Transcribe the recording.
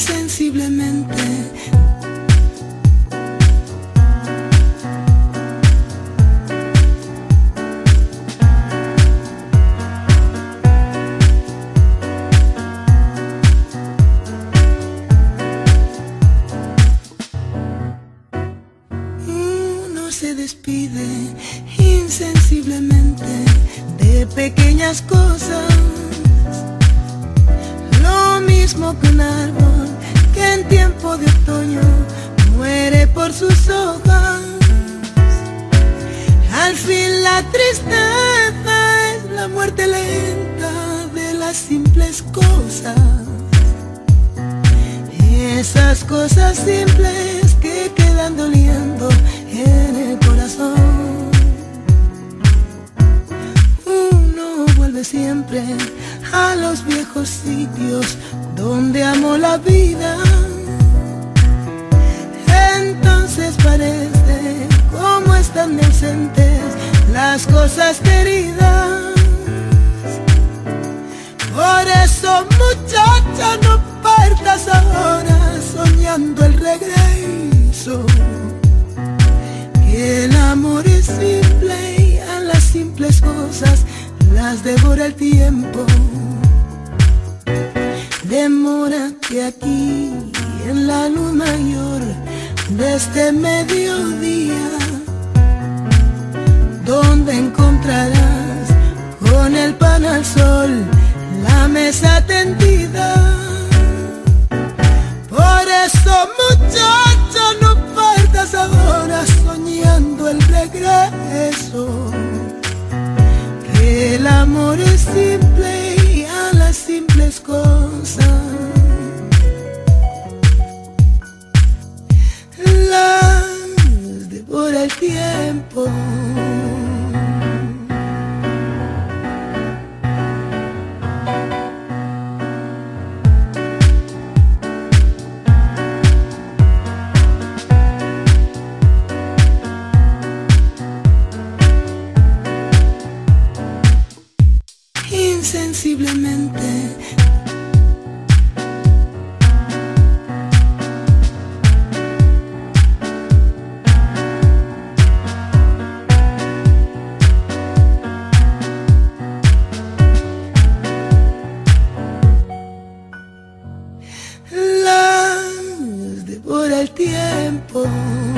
insensiblemente. Se despide insensiblemente de pequeñas cosas, lo mismo que un árbol que en tiempo de otoño muere por sus hojas. Al fin la tristeza es la muerte lenta de las simples cosas, esas cosas simples que quedan doliendo en el corazón. Uno vuelve siempre a los viejos sitios donde amó la vida. Entonces parece como están ausentes las cosas queridas. Por eso, muchacha, no partas ahora soñando el regreso. El amor es simple y a las simples cosas las devora el tiempo. Demórate aquí en la luz mayor de este mediodía, donde encontrarás con el pan al sol la mesa tendida. Por eso, muchacho, no partas ahora soñando el regreso, que el amor es simple y a las simples cosas las devora el tiempo. Insensiblemente. Las devora el tiempo.